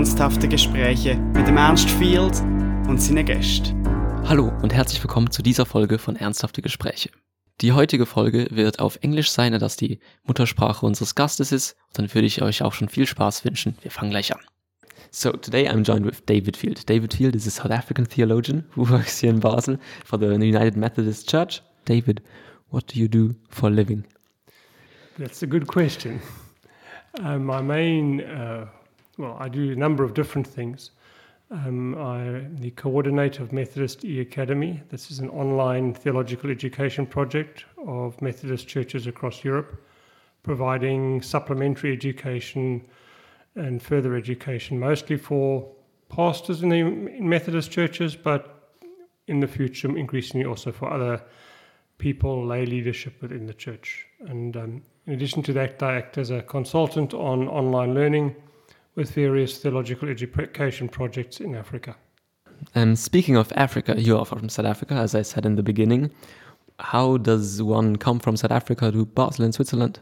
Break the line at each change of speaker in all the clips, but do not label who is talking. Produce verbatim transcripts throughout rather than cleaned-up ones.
Ernsthafte Gespräche mit dem Ernst Field und seinen Gästen.
Hallo und herzlich willkommen zu dieser Folge von Ernsthafte Gespräche. Die heutige Folge wird auf Englisch sein, da das die Muttersprache unseres Gastes ist. Und dann würde ich euch auch schon viel Spaß wünschen. Wir fangen gleich an. So today I'm joined with David Field. David Field is a South African theologian who works here in Basel for the United Methodist Church. David, what do you do for a living?
That's a good question. Uh, my main, uh, well, I do a number of different things. Um, I'm the coordinator of Methodist E-Academy. This is an online theological education project of Methodist churches across Europe, providing supplementary education and further education, mostly for pastors in the in Methodist churches, but in the future, increasingly also for other people, lay leadership within the church. And um, in addition to that, I act as a consultant on online learning with various theological education projects in Africa.
Um, speaking of Africa, you are from South Africa, as I said in the beginning. How does one come from South Africa to Basel in Switzerland?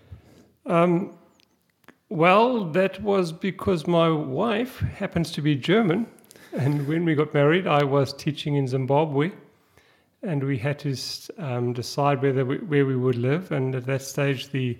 Um, well, that was because my wife happens to be German. And when we got married, I was teaching in Zimbabwe. And we had to um, decide whether we, where we would live. And at that stage, the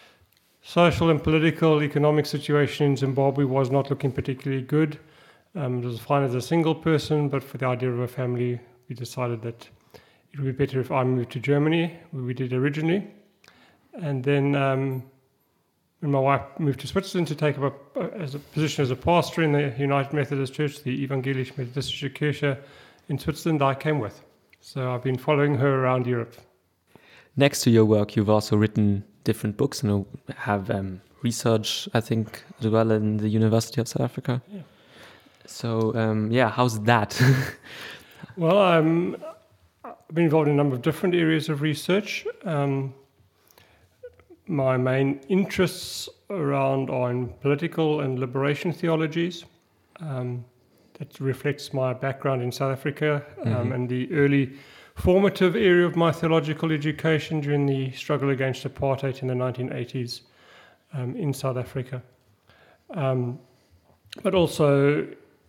social and political economic situation in Zimbabwe was not looking particularly good. Um, it was fine as a single person, but for the idea of a family, we decided that it would be better if I moved to Germany, where we did originally. And then um, when my wife moved to Switzerland to take up a, a, as a position as a pastor in the United Methodist Church, the Evangelische Methodistische Kirche in Switzerland, I came with. So I've been following her around Europe.
Next to your work, you've also written different books and have um, research, I think, as well in the University of South Africa.
Yeah.
So, um, yeah, how's that?
Well, I'm, I've been involved in a number of different areas of research. Um, my main interests around are in political and liberation theologies. Um, That reflects my background in South Africa um, mm-hmm. and the early formative area of my theological education during the struggle against apartheid in the nineteen eighties um, in South Africa. Um, but also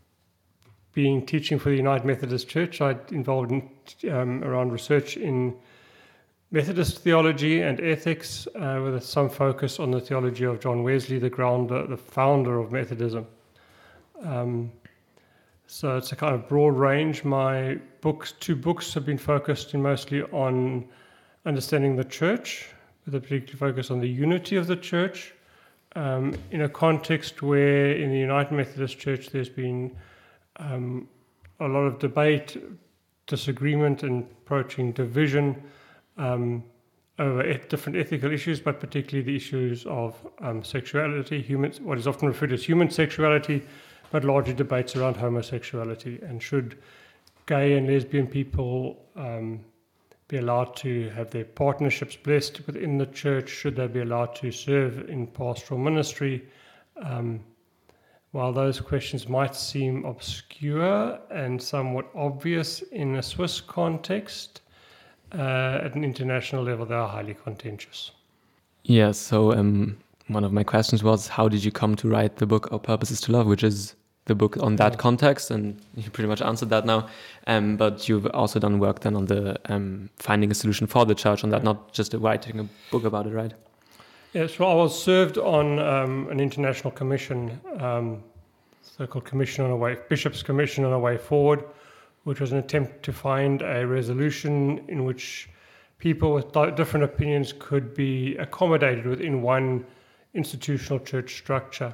being teaching for the United Methodist Church, I involved in, um, around research in Methodist theology and ethics uh, with some focus on the theology of John Wesley, the grounder, the founder of Methodism. Um, So it's a kind of broad range. My books, two books have been focused in mostly on understanding the church, with a particular focus on the unity of the church, um, in a context where in the United Methodist Church there's been um, a lot of debate, disagreement, and approaching division um, over et- different ethical issues, but particularly the issues of um, sexuality, human, what is often referred to as human sexuality, but larger debates around homosexuality, and should gay and lesbian people um, be allowed to have their partnerships blessed within the church? Should they be allowed to serve in pastoral ministry? Um, while those questions might seem obscure and somewhat obvious in a Swiss context, uh, at an international level they are highly contentious.
Yeah, so um, one of my questions was, how did you come to write the book Our Purpose is to Love, which is the book on that context, and you pretty much answered that now. Um, but you've also done work then on the um, finding a solution for the church on that, not just writing a book about it, right?
Yes, well, I was served on um, an international commission, um, so-called Commission on a Way, Bishop's Commission on a Way Forward, which was an attempt to find a resolution in which people with di- different opinions could be accommodated within one institutional church structure.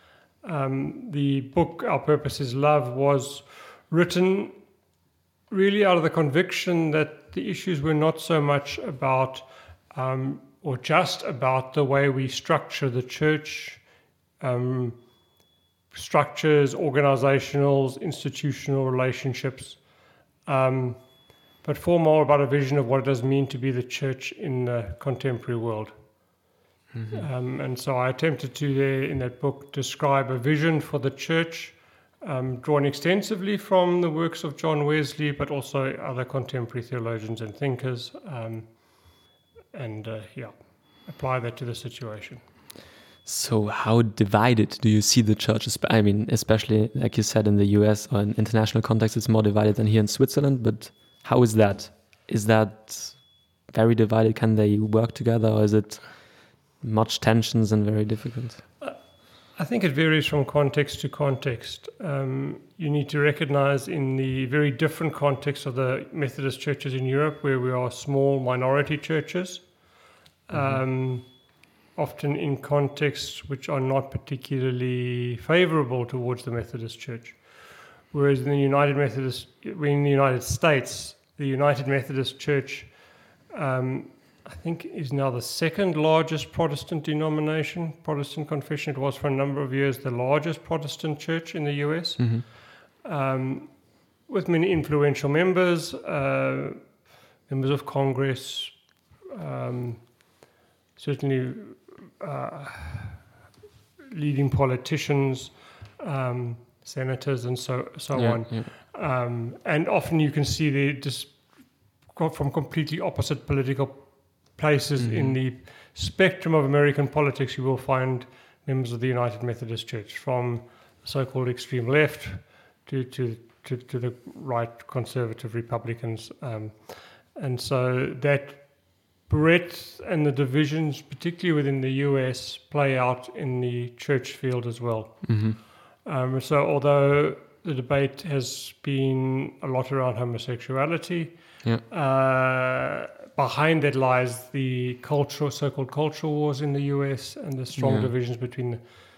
Um, the book, Our Purpose is Love, was written really out of the conviction that the issues were not so much about um, or just about the way we structure the church, um, structures, organizational, institutional relationships, um, but far more about a vision of what it does mean to be the church in the contemporary world. Mm-hmm. Um, and so I attempted to, there in that book, describe a vision for the church, um, drawn extensively from the works of John Wesley, but also other contemporary theologians and thinkers, um, and uh, yeah, apply that to the situation.
So how divided do you see the churches? I mean, especially like you said in the U S or in international context, it's more divided than here in Switzerland. But how is that? Is that very divided? Can they work together, or is it much tensions and very difficult?
I think it varies from context to context. Um, you need to recognize in the very different context of the Methodist churches in Europe, where we are small minority churches, mm-hmm. um, often in contexts which are not particularly favorable towards the Methodist Church. Whereas in the United Methodist, in the United States, the United Methodist Church, um, I think, is now the second largest Protestant denomination, Protestant confession. It was for a number of years the largest Protestant church in the U S, mm-hmm. um, with many influential members, uh, members of Congress, um, certainly uh, leading politicians, um, senators, and so so
yeah,
on.
Yeah.
Um, and often you can see they just from completely opposite political places mm-hmm. in the spectrum of American politics. You will find members of the United Methodist Church, from so-called extreme left to to, to, to the right conservative Republicans. Um, and so that breadth and the divisions, particularly within the U S, play out in the church field as well. Mm-hmm. Um, so although the debate has been a lot around homosexuality, yeah. uh, behind that lies the cultural, so-called cultural wars in the U S and the strong yeah. divisions between the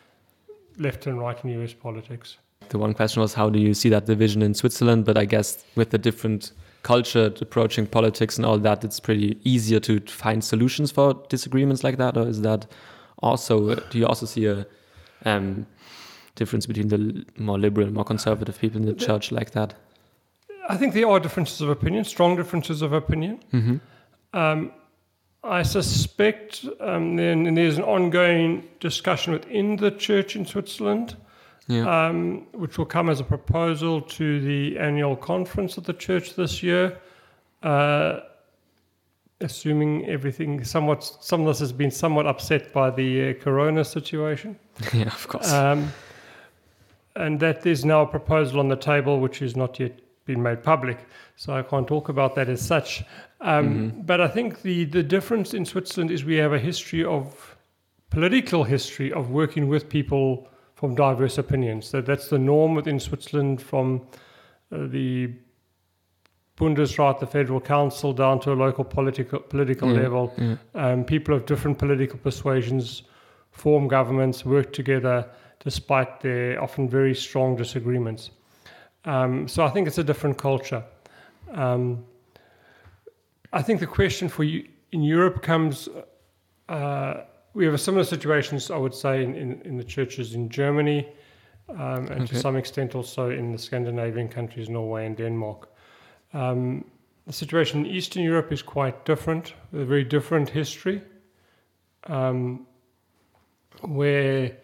left and right in U S politics.
The one question was, how do you see that division in Switzerland? But I guess with the different culture approaching politics and all that, it's pretty easier to find solutions for disagreements like that. Or is that also, do you also see a um, difference between the more liberal and more conservative people in the church like that?
I think there are differences of opinion, strong differences of opinion. Mm-hmm. Um, I suspect um, then there's an ongoing discussion within the church in Switzerland, yeah. um, which will come as a proposal to the annual conference of the church this year, uh, assuming everything somewhat, some of this has been somewhat upset by the uh, corona situation.
Yeah, of course.
Um, and that there's now a proposal on the table which has not yet been made public, so I can't talk about that as such. Um, mm-hmm. But I think the, the difference in Switzerland is we have a history of, political history of working with people from diverse opinions. So that's the norm within Switzerland, from uh, the Bundesrat, the Federal Council, down to a local political political yeah, level. Yeah. Um, people of different political persuasions form governments, work together, despite their often very strong disagreements. Um, so I think it's a different culture. Um, I think the question for you in Europe comes, uh, we have a similar situations, I would say, in, in, in the churches in Germany, um, and okay. to some extent also in the Scandinavian countries, Norway and Denmark. Um, the situation in Eastern Europe is quite different, with a very different history, um, where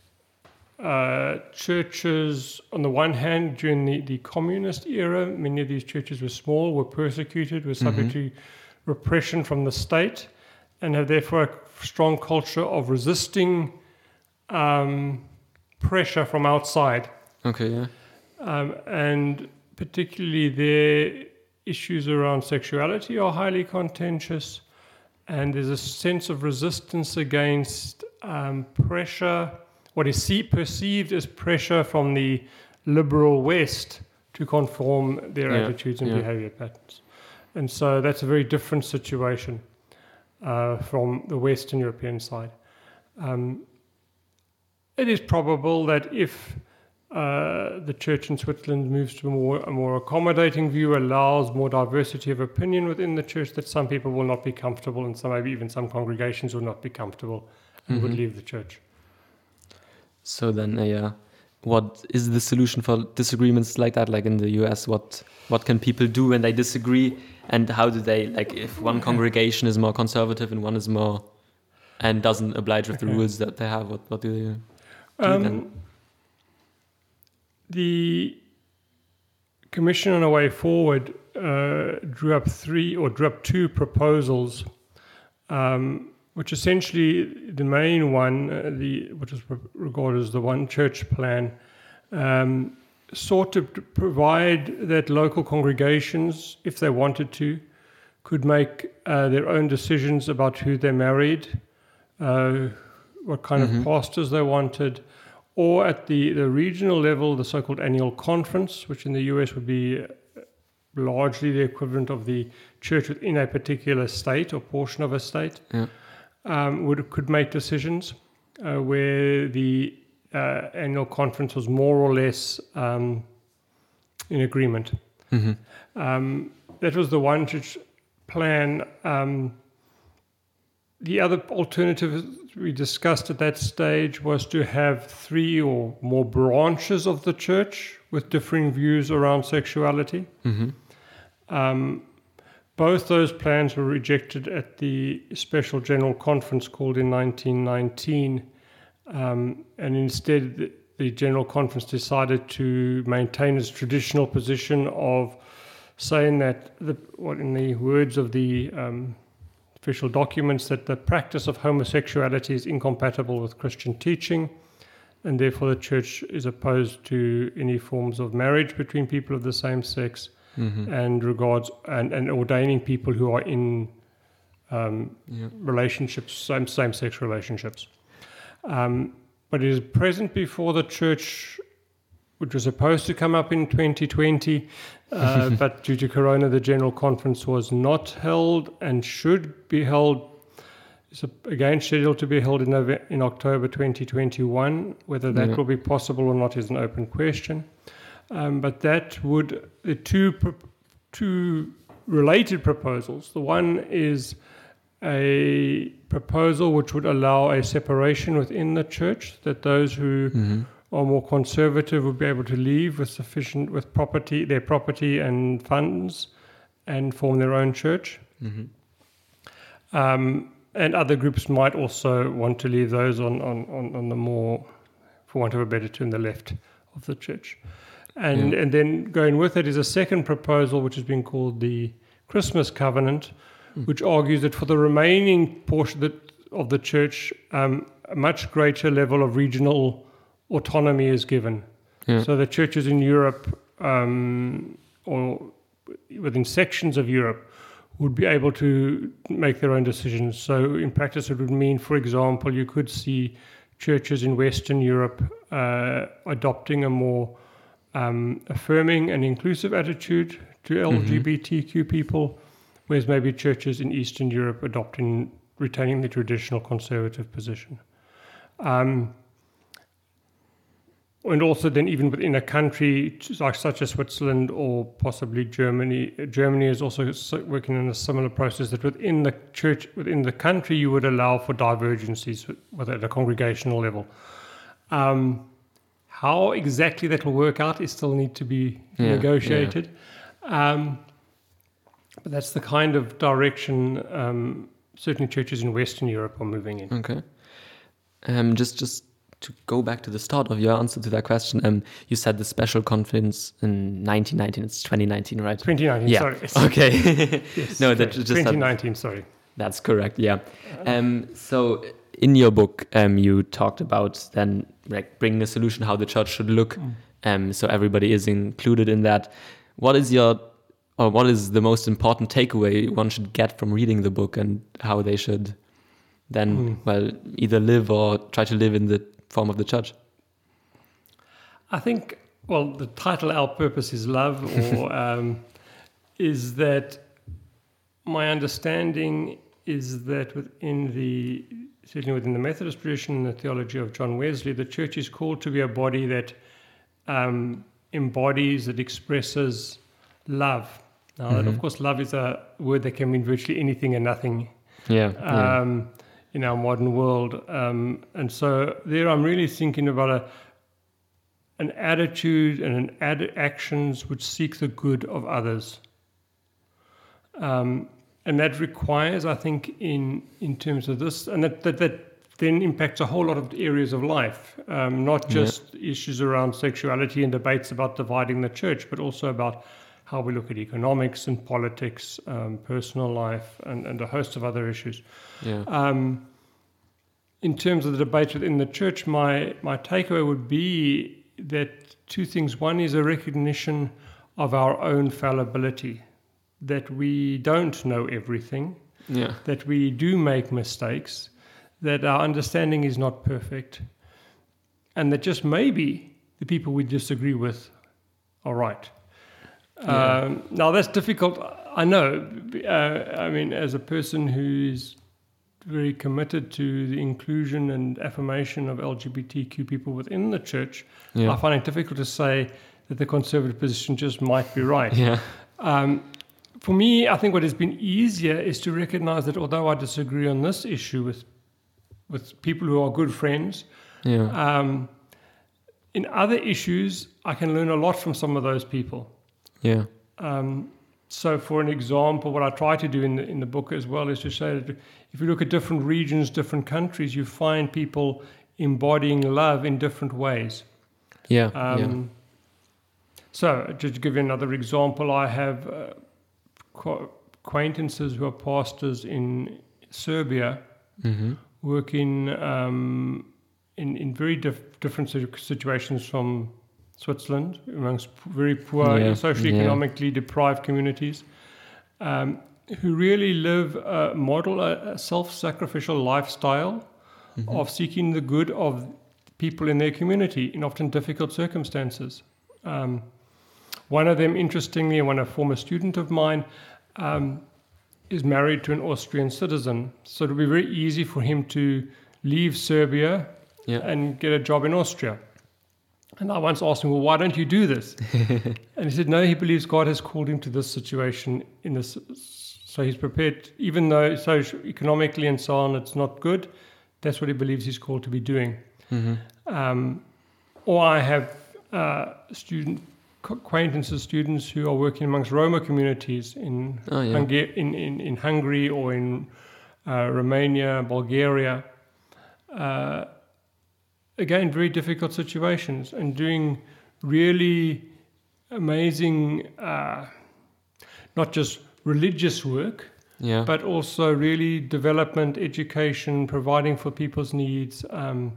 Uh, churches, on the one hand, during the, the communist era, many of these churches were small, were persecuted, were subject mm-hmm. to repression from the state, and have therefore a strong culture of resisting um, pressure from outside.
Okay, yeah.
Um, and particularly their issues around sexuality are highly contentious, and there's a sense of resistance against um, pressure, what is see, perceived as pressure from the liberal West to conform their yeah, attitudes and yeah. behavior patterns. And so that's a very different situation uh, from the Western European side. Um, it is probable that if uh, the church in Switzerland moves to a more, a more accommodating view, allows more diversity of opinion within the church, that some people will not be comfortable, and some, maybe even some congregations will not be comfortable and mm-hmm. would leave the church.
So then, uh, yeah, what is the solution for disagreements like that, like in the U S? What what can people do when they disagree, and how do they, like, if one congregation is more conservative and one is more, and doesn't oblige with okay. the rules that they have, what, what do they do um, then?
The Commission on a Way Forward uh, drew up three, or drew up two proposals um, which essentially the main one, uh, the which is regarded as the One Church plan, um, sought to provide that local congregations, if they wanted to, could make uh, their own decisions about who they married, uh, what kind mm-hmm. of pastors they wanted, or at the, the regional level, the so-called annual conference, which in the U S would be largely the equivalent of the church within a particular state or portion of a state, yeah. um, would could make decisions uh, where the uh, annual conference was more or less um, in agreement. Mm-hmm. Um, that was the one church plan. Um, the other alternative we discussed at that stage was to have three or more branches of the church with differing views around sexuality. Mm-hmm. Um, both those plans were rejected at the Special General Conference called in nineteen nineteen, um, and instead the, the General Conference decided to maintain its traditional position of saying that, the, what in the words of the um, official documents, that the practice of homosexuality is incompatible with Christian teaching, and therefore the church is opposed to any forms of marriage between people of the same sex, mm-hmm. and regards and, and ordaining people who are in um, yeah. relationships, same same-sex relationships. Um, but it is present before the church, which was supposed to come up in twenty twenty, uh, but due to Corona, the General Conference was not held and should be held. It's again scheduled to be held in November, in October twenty twenty-one. Whether that yeah. will be possible or not is an open question. Um, but that would, the two two related proposals. The one is a proposal which would allow a separation within the church, that those who mm-hmm. are more conservative would be able to leave with sufficient, with property, their property and funds, and form their own church. Mm-hmm. Um, and other groups might also want to leave those on, on, on, on the more, for want of a better term, the left of the church. And, yeah. and then going with it is a second proposal, which has been called the Christmas Covenant, mm. which argues that for the remaining portion of the church, um, a much greater level of regional autonomy is given. Yeah. So the churches in Europe, um, or within sections of Europe, would be able to make their own decisions. So in practice, it would mean, for example, you could see churches in Western Europe uh, adopting a more um, affirming and inclusive attitude to L G B T Q mm-hmm. people, whereas maybe churches in Eastern Europe adopting, retaining the traditional conservative position. Um, And also then even within a country like such as Switzerland or possibly Germany, Germany is also working in a similar process, that within the church, within the country, you would allow for divergencies at a congregational level. Um, how exactly that will work out is still need to be yeah, negotiated. Yeah. Um, but that's the kind of direction um, certain churches in Western Europe are moving in.
Okay. Um, just, just to go back to the start of your answer to that question, um, you said the special conference in nineteen nineteen. It's twenty nineteen, right?
twenty nineteen,
yeah.
sorry.
Okay.
Yes,
no,
okay.
that just
twenty nineteen, had, sorry.
That's correct, yeah. Um, so in your book, um, you talked about then like bringing a solution how the church should look. Mm. Um, so everybody is included in that. What is your, or what is the most important takeaway one should get from reading the book, and how they should then, mm. well, either live or try to live in the form of the church?
I think, well, the title Our Purpose is Love, or um, is that my understanding is that within the, certainly within the Methodist tradition and the theology of John Wesley, the church is called to be a body that um, embodies, that expresses love. Now, mm-hmm. that of course, love is a word that can mean virtually anything and nothing.
Yeah.
Um,
yeah.
in our modern world. Um, and so there I'm really thinking about a, an attitude and an ad- actions which seek the good of others. Um, and that requires, I think, in in terms of this, and that, that, that then impacts a whole lot of areas of life, um, not just yeah. issues around sexuality and debates about dividing the church, but also about how we look at economics and politics, um, personal life, and, and a host of other issues.
Yeah.
Um, in terms of the debate within the church, my, my takeaway would be that two things. One is a recognition of our own fallibility, that we don't know everything,
Yeah.
that we do make mistakes, that our understanding is not perfect, and that just maybe the people we disagree with are right.
Yeah.
Um, now, that's difficult, I know. Uh, I mean, as a person who is very committed to the inclusion and affirmation of L G B T Q people within the church,
Yeah.
I find it difficult to say that the conservative position just might be right.
Yeah.
Um, for me, I think what has been easier is to recognize that although I disagree on this issue with with people who are good friends,
Yeah.
um, in other issues, I can learn a lot from some of those people.
Yeah.
Um, so, for an example, what I try to do in the, in the book as well is to say that if you look at different regions, different countries, you find people embodying love in different ways.
Yeah.
Um,
yeah.
So, just to give you another example, I have uh, qu- acquaintances who are pastors in Serbia,
Mm-hmm.
working um, in in very dif- different situ- situations from Switzerland, amongst p- very poor,
Yeah,
socially
yeah.
economically deprived communities, um, who really live, uh, model a, a self-sacrificial lifestyle
Mm-hmm.
of seeking the good of people in their community in often difficult circumstances. Um, one of them, interestingly, one a former student of mine, um, is married to an Austrian citizen. So it'll be very easy for him to leave Serbia
Yeah.
and get a job in Austria. And I once asked him, well, why don't you do this? And he said, no, he believes God has called him to this situation. In this, so he's prepared, even though social, economically and so on, it's not good, that's what he believes he's called to be doing.
Mm-hmm.
Um, or I have uh, student acquaintances, students who are working amongst Roma communities in,
Oh, yeah.
Hunga- in, in, in Hungary or in uh, Romania, Bulgaria. Uh, again, very difficult situations, and doing really amazing, uh, not just religious work,
Yeah.
but also really development, education, providing for people's needs. Um,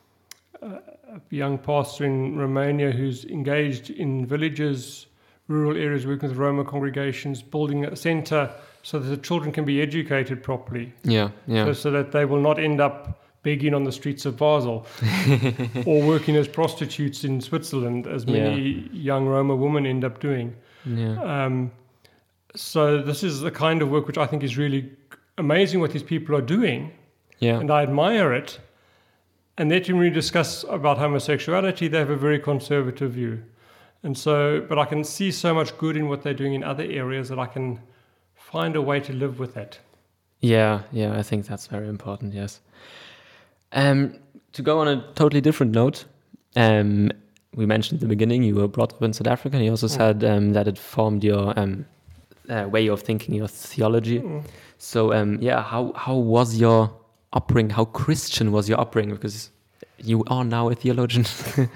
a young pastor in Romania who's engaged in villages, rural areas, working with Roma congregations, building a center so that the children can be educated properly,
Yeah. Yeah.
so, so that they will not end up begging on the streets of Basel or working as prostitutes in Switzerland, as many young Roma women end up doing.
Yeah.
Um, so this is the kind of work which I think is really amazing what these people are doing,
Yeah.
and I admire it. And yet when we discuss about homosexuality, they have a very conservative view. And so, but I can see so much good in what they're doing in other areas that I can find a way to live with that.
Yeah, yeah, I think that's very important, yes. Um, to go on a totally different note, um, we mentioned at the beginning you were brought up in South Africa, and you also
Mm.
said um, that it formed your um, uh, way of thinking, your theology.
Mm.
So, um, yeah, how, how was your upbringing? How Christian was your upbringing? Because you are now a theologian.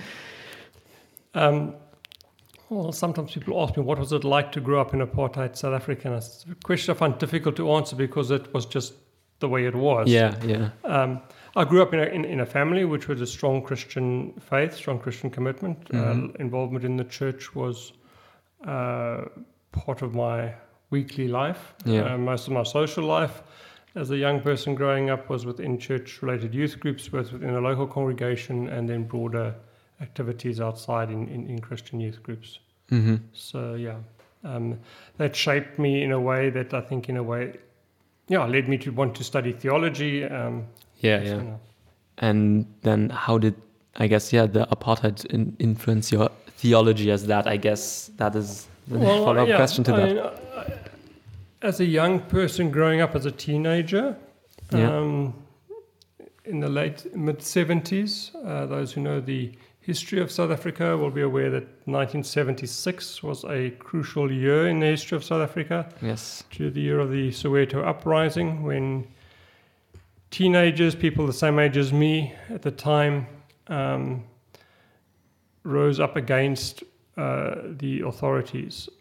Um, well, sometimes people ask me, what was it like to grow up in apartheid South Africa? And it's a question I find difficult to answer because it was just the way it was.
yeah, yeah.
Um, I grew up in a, in, in a family which was a strong Christian faith, strong Christian commitment.
Mhm.
Uh, involvement in the church was uh, part of my weekly life.
Yeah.
Uh, most of my social life as a young person growing up was within church-related youth groups, both within a local congregation and then broader activities outside in, in, in Christian youth groups.
Mm-hmm.
So, yeah, um, that shaped me in a way that I think in a way, yeah, led me to want to study theology. Um,
Yeah,
so,
yeah.
no.
And then how did, I guess, yeah, the apartheid in, influence your theology as that? I guess that is the
Well,
follow-up
yeah,
question to
I
that.
mean, I- as a young person growing up as a teenager,
Yeah.
um, in the late mid seventies, uh, those who know the history of South Africa will be aware that nineteen seventy-six was a crucial year in the history of South Africa,
Yes.
to the year of the Soweto uprising, when teenagers, people the same age as me at the time, um, rose up against uh, the authorities.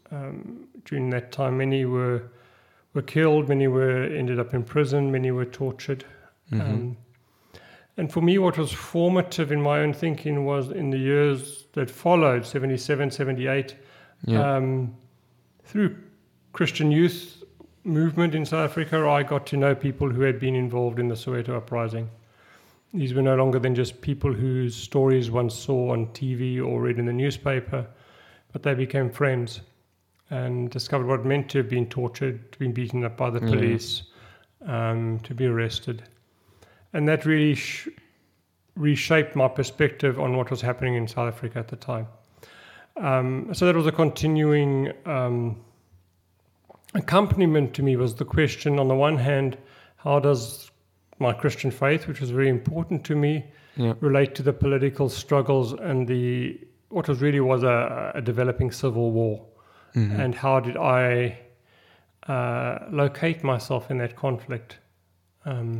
Um, during that time, many were were killed, many were ended up in prison, many were tortured.
Mm-hmm.
Um, and for me, what was formative in my own thinking was in the years that followed, seventy-seven, seventy-eight,
Yeah.
um, through Christian youth movement in South Africa, I got to know people who had been involved in the Soweto uprising. These were no longer than just people whose stories one saw on T V or read in the newspaper, but they became friends and discovered what it meant to have been tortured, to be beaten up by the
Yeah.
police, um, to be arrested. And that really sh- reshaped my perspective on what was happening in South Africa at the time. Um, so that was a continuing um, accompaniment to me, was the question, on the one hand, how does my Christian faith, which was very important to me,
Yeah.
relate to the political struggles and the what was really was a, a developing civil war,
Mhm.
and how did I uh, locate myself in that conflict? Um,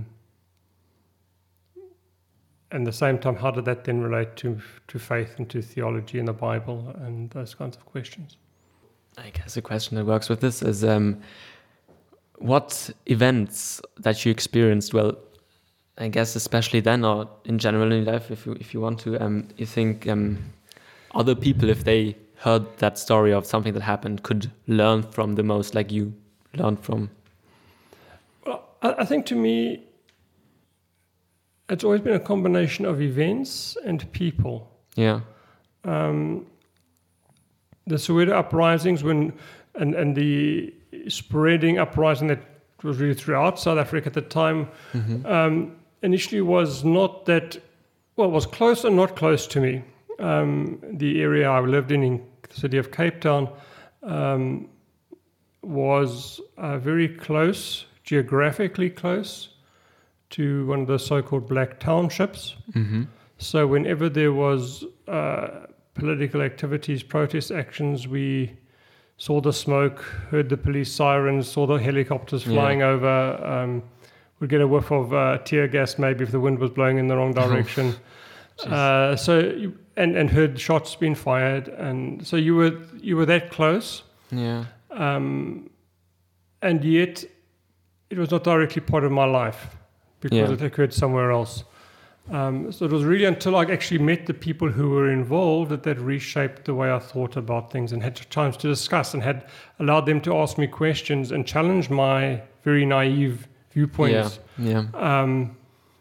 and at the same time, how did that then relate to to faith and to theology and the Bible and those kinds of questions?
I guess a question that works with this is um, what events that you experienced, well, I guess especially then or in general in life, if you if you want to, um, you think um, other people, if they heard that story of something that happened, could learn from the most, like you learned from?
Well, I, I think to me, it's always been a combination of events and people.
Yeah.
Um, the Soweto uprisings, when and, and the spreading uprising that was really throughout South Africa at the time,
Mm-hmm.
um, initially was not that, well, it was close and not close to me. Um, the area I lived in, in the city of Cape Town, um, was uh, very close, geographically close, to one of the so-called black townships.
Mm-hmm.
So whenever there was uh, political activities, protest actions, we saw the smoke, heard the police sirens, saw the helicopters flying
Yeah.
over. Um, we'd get a whiff of uh, tear gas maybe if the wind was blowing in the wrong direction. uh, so you, and and heard shots being fired, and so you were you were that close,
Yeah.
um, and yet it was not directly part of my life because
Yeah.
it occurred somewhere else. Um, so it was really until I actually met the people who were involved that that reshaped the way I thought about things and had chance to discuss and had allowed them to ask me questions and challenge my very naive viewpoints.
Yeah. Yeah.
Um,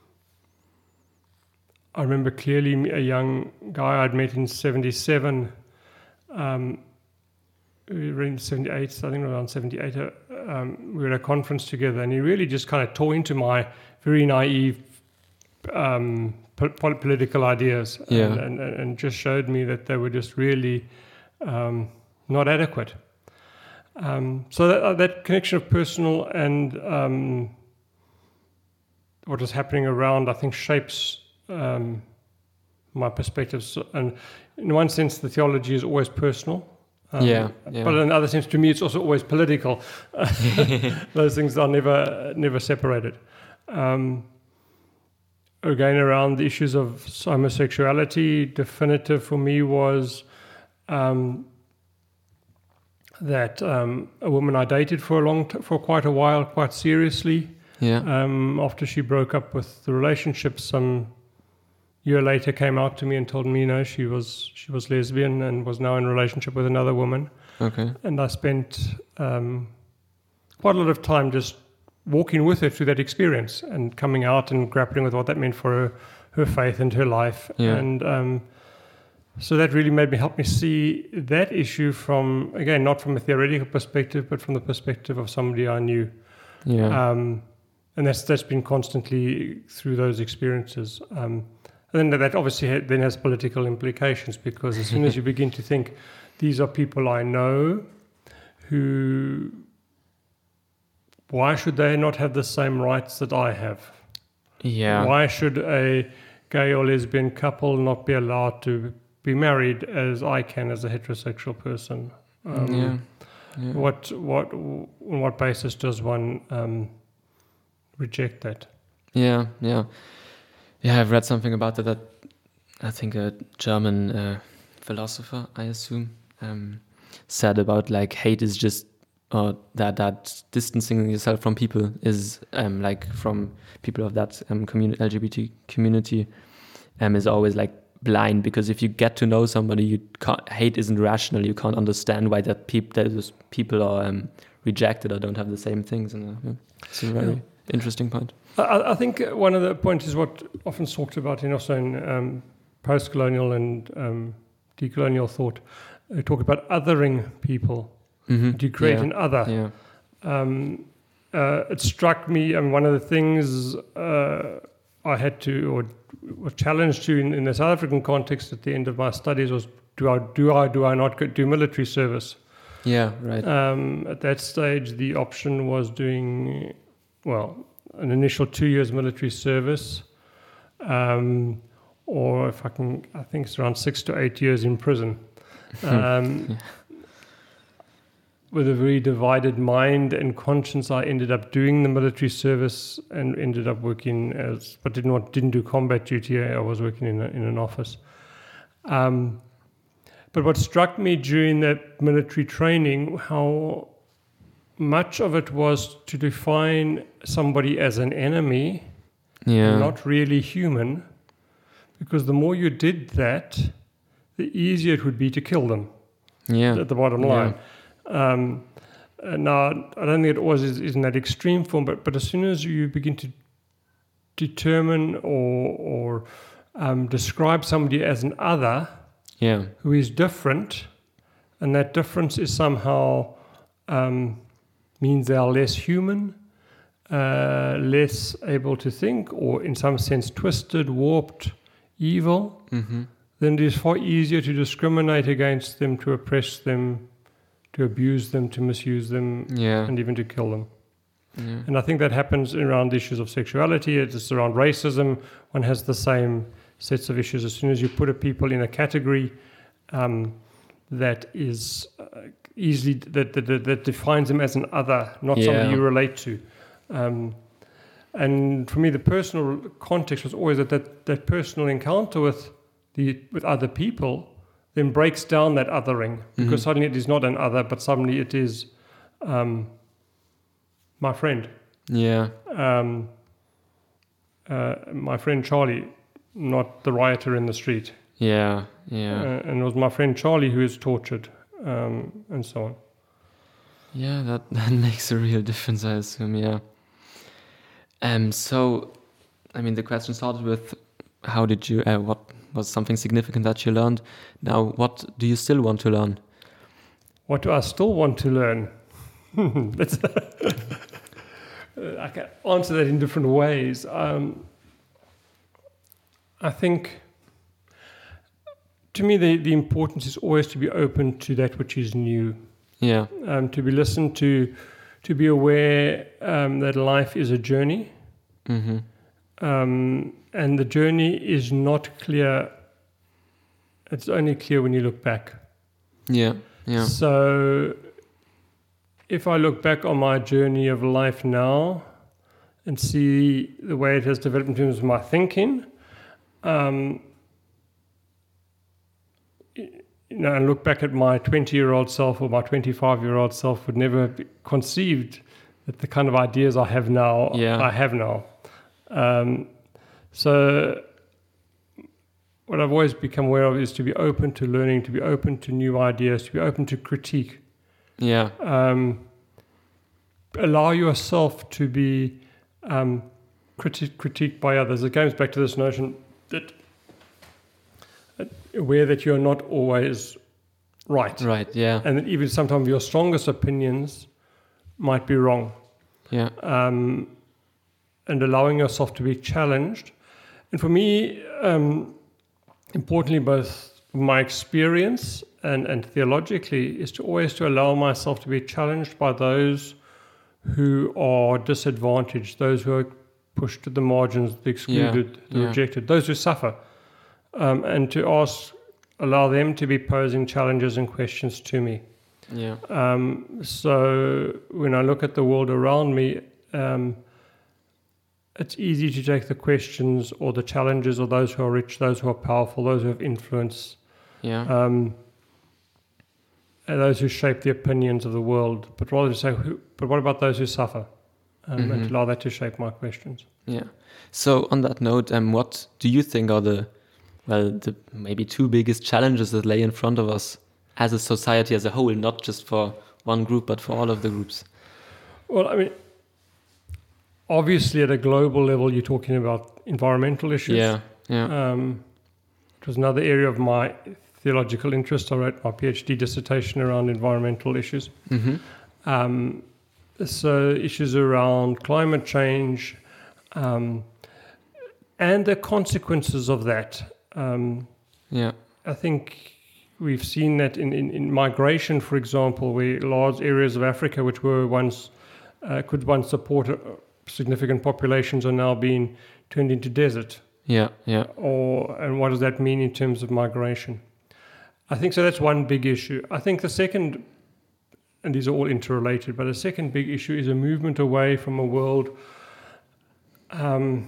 I remember clearly a young guy I'd met in seventy-seven, um, we were in seventy-eight, I think around seventy-eight, uh, um, we were at a conference together, and he really just kind of tore into my very naive um, po- political ideas,
Yeah.
and, and, and just showed me that they were just really um, not adequate. Um, so that, uh, that connection of personal and um, what was happening around, I think, shapes um, my perspectives. And in one sense, the theology is always personal. Um,
Yeah, yeah.
But in another sense, to me, it's also always political. Those things are never never separated. Um, again, around the issues of homosexuality, definitive for me was um, that um, a woman I dated for a long, t- for quite a while, quite seriously.
Yeah.
Um, after she broke up with the relationship, some year later came out to me and told me, you know, she was she was lesbian and was now in a relationship with another woman.
Okay.
And I spent um, quite a lot of time just walking with her through that experience and coming out and grappling with what that meant for her, her faith and her life.
Yeah.
And um, so that really made me help me see that issue from, again, not from a theoretical perspective, but from the perspective of somebody I knew.
Yeah.
Um, and that's that's been constantly through those experiences. Um, and then that obviously ha- then has political implications, because as soon as you begin to think, these are people I know who, why should they not have the same rights that I have?
yeah.
Why should a gay or lesbian couple not be allowed to be married as I can as a heterosexual person? Um,
yeah. Yeah.
What what on what basis does one um, reject that?
Yeah, yeah, yeah. I've read something about that. That I think a German uh, philosopher, I assume, um, said about like hate is just uh, that that distancing yourself from people is um, like from people of that um, community L G B T community um, is always like blind, because if you get to know somebody, you can't, hate isn't rational. You can't understand why that peop- those people are um, rejected or don't have the same things. And uh, yeah, it's a very yeah. interesting point.
I, I think one of the points is what often talked about in also in um, post-colonial and um, decolonial thought. They talk about othering people.
Mm-hmm.
To create
yeah.
an other.
Yeah.
Um, uh, it struck me, I mean, one of the things uh, I had to, or was challenged to in, in the South African context at the end of my studies was, do I, do I, do I not go, do military service?
Yeah, right.
Um, at that stage, the option was doing, well, an initial two years military service, um, or if I can, I think it's around six to eight years in prison. Um,
yeah.
With a very divided mind and conscience, I ended up doing the military service and ended up working as, but did not didn't do combat duty. I was working in a, in an office. Um, but what struck me during that military training, how much of it was to define somebody as an enemy,
yeah.
not really human, because the more you did that, the easier it would be to kill them.
Yeah.
At the bottom line. Yeah. Um, now, I don't think it always is, is in that extreme form, but, but as soon as you begin to determine or, or um, describe somebody as an other
yeah.
who is different, and that difference is somehow um, means they are less human, uh, less able to think, or in some sense twisted, warped, evil,
mm-hmm.
then it is far easier to discriminate against them, to oppress them, to abuse them, to misuse them,
yeah.
and even to kill them.
Yeah.
And I think that happens around issues of sexuality. It's around racism. One has the same sets of issues. As soon as you put a people in a category um, that is uh, easily, that, that that defines them as an other, not
yeah.
somebody you relate to. Um, and for me, the personal context was always that that, that personal encounter with the with other people then breaks down that othering, because mm-hmm. suddenly it is not an other, but suddenly it is um, my friend.
Yeah.
Um, uh, my friend Charlie, not the rioter in the street.
Yeah, yeah.
Uh, and it was my friend Charlie who is tortured, um, and so on.
Yeah, that, that makes a real difference, I assume, yeah. Um. So, I mean, the question started with, how did you, uh, what was something significant that you learned? Now, what do you still want to learn?
What do I still want to learn? That's I can answer that in different ways. Um, I think, to me, the, the importance is always to be open to that which is new.
Yeah.
Um, to be listened to, to be aware um, that life is a journey.
Mm-hmm.
Um, and the journey is not clear. It's only clear when you look back.
Yeah, yeah.
So if I look back on my journey of life now and see the way it has developed in terms of my thinking, um, you know, and look back at my twenty-year-old self or my twenty-five-year-old self, would never have conceived that the kind of ideas I have now,
yeah.
I have now. Um, so what I've always become aware of is to be open to learning, to be open to new ideas, to be open to critique.
Yeah.
Um, allow yourself to be um, criti- critiqued by others. It goes back to this notion that uh, aware that you're not always right.
Right, yeah.
And that even sometimes your strongest opinions might be wrong.
Yeah.
Um, and allowing yourself to be challenged. And for me, um, importantly, both my experience and, and theologically, is to always to allow myself to be challenged by those who are disadvantaged, those who are pushed to the margins, the excluded,
yeah,
the
yeah.
rejected, those who suffer, um, and to ask, allow them to be posing challenges and questions to me.
Yeah.
Um, so when I look at the world around me, um, it's easy to take the questions or the challenges of those who are rich, those who are powerful, those who have influence,
Yeah.
um, uh, those who shape the opinions of the world, but rather to say, who, but what about those who suffer? Um,
Mm-hmm.
And to allow that to shape my questions.
Yeah. So on that note, um, what do you think are the, well, the maybe two biggest challenges that lay in front of us as a society as a whole, not just for one group, but for all of the groups?
Well, I mean, obviously at a global level, you're talking about environmental issues.
Yeah, yeah,
Um, it was another area of my theological interest. I wrote my PhD dissertation around environmental issues.
mm-hmm.
Um, so issues around climate change um, and the consequences of that. Um,
yeah,
I think we've seen that in, in, in migration, for example, where large areas of Africa, which were once uh, could once support uh, significant populations, are now being turned into desert.
yeah, yeah,
Or and what does that mean in terms of migration? I think so. That's one big issue. I think the second, and these are all interrelated, but the second big issue is a movement away from a world. Um,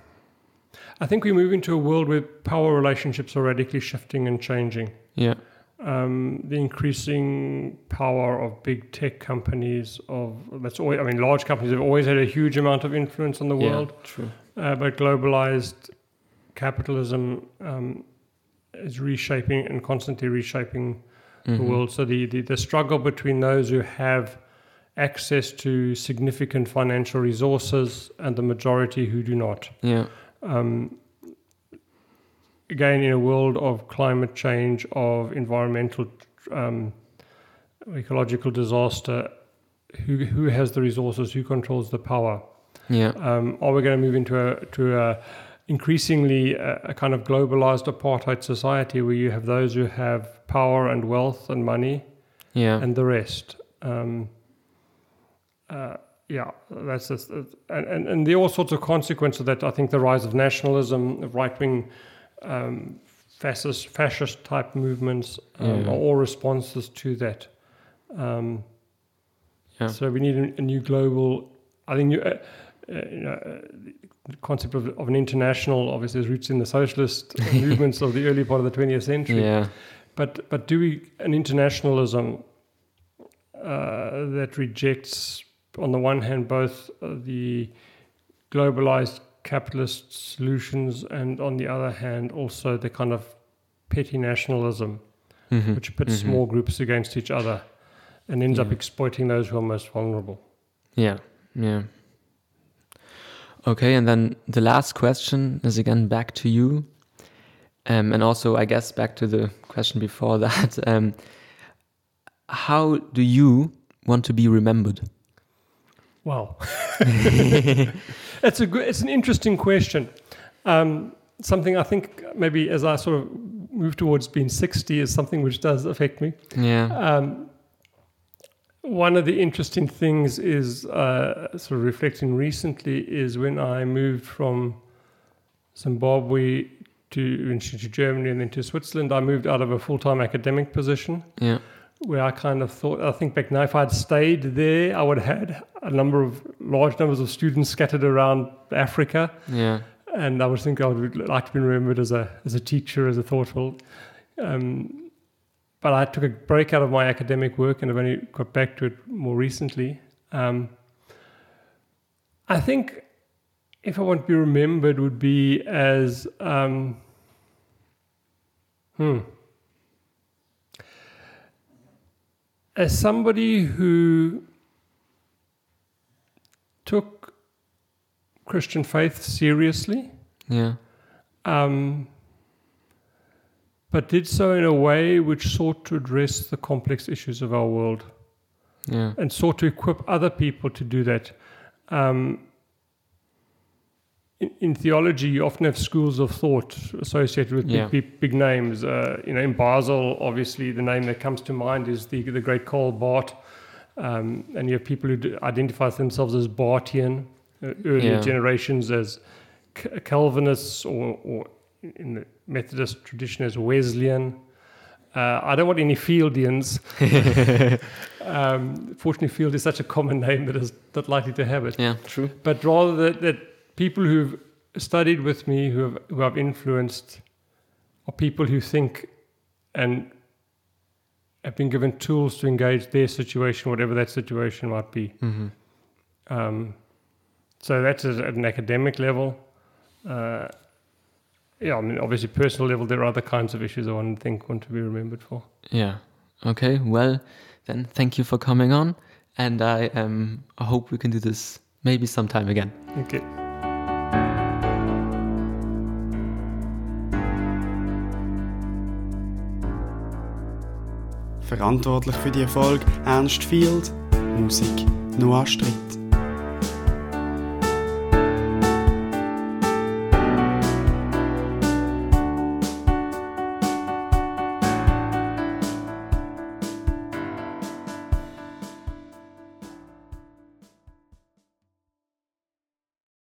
I think we move into a world where power relationships are radically shifting and changing.
yeah,
Um, the increasing power of big tech companies, of that's always, I mean, large companies have always had a huge amount of influence on the
yeah,
world,
true.
uh, but globalized capitalism um, is reshaping and constantly reshaping the
Mhm.
world. So the, the, the struggle between those who have access to significant financial resources and the majority who do not.
Yeah,
Um, again, in a world of climate change, of environmental, um, ecological disaster, who who has the resources? Who controls the power?
yeah,
Um, are we going to move into a to a increasingly a, a kind of globalized apartheid society where you have those who have power and wealth and money,
yeah,
and the rest? Um, uh, yeah, that's just, uh, and, and and there are all sorts of consequences of that. I think the rise of nationalism, of right wing, um, fascist fascist type movements um,
Yeah.
are all responses to that. Um,
Yeah.
So we need a, a new global. I think new, uh, uh, you know, uh, the concept of, of an international obviously has roots in the socialist movements of the early part of the twentieth century.
yeah,
But but do we an internationalism uh, that rejects, on the one hand, both uh, the globalized capitalist solutions, and on the other hand, also the kind of petty nationalism,
Mhm.
which pits
Mhm.
small groups against each other, and ends up
Yeah.
exploiting those who are most vulnerable.
Yeah, yeah. Okay, and then the last question is again back to you. Um, and also, I guess, back to the question before that. Um, how do you want to be remembered?
Wow, it's a good, it's an interesting question. Um, something I think maybe as I sort of move towards being sixty is something which does affect me.
Yeah,
Um, one of the interesting things is uh, sort of reflecting recently is when I moved from Zimbabwe to, to Germany and then to Switzerland. I moved out of a full-time academic position
yeah,
where I kind of thought, I think back now, if I'd stayed there, I would have had a number of large numbers of students scattered around Africa.
yeah,
And I would think I would like to be remembered as a as a teacher, as a thoughtful. Um, but I took a break out of my academic work and I've only got back to it more recently. Um, I think if I want to be remembered would be as um, hmm, as somebody who took Christian faith seriously,
yeah,
um, but did so in a way which sought to address the complex issues of our world
yeah,
and sought to equip other people to do that. Um, in, in theology, you often have schools of thought associated with
Yeah.
big, big, big names. Uh, you know, in Basel, obviously, the name that comes to mind is the the great Karl Barth, um, and you have people who d- identify themselves as Barthian, uh, earlier
Yeah.
generations as C- Calvinists, or, or in the Methodist tradition as Wesleyan. Uh, I don't want any Fieldians. um, fortunately, Field is such a common name that is not likely to have it.
yeah, true.
But rather that, that people who've studied with me, who have who I've influenced, are people who think and have been given tools to engage their situation, whatever that situation might be.
Mm-hmm.
Um, so that's at an academic level. Uh, yeah, I mean, obviously, personal level, there are other kinds of issues I want to think want to be remembered for.
Yeah. Okay. Well, then thank you for coming on, and I um I hope we can do this maybe sometime again.
Okay.
Verantwortlich für die Erfolg Ernst Field, Musik Noah Stritt.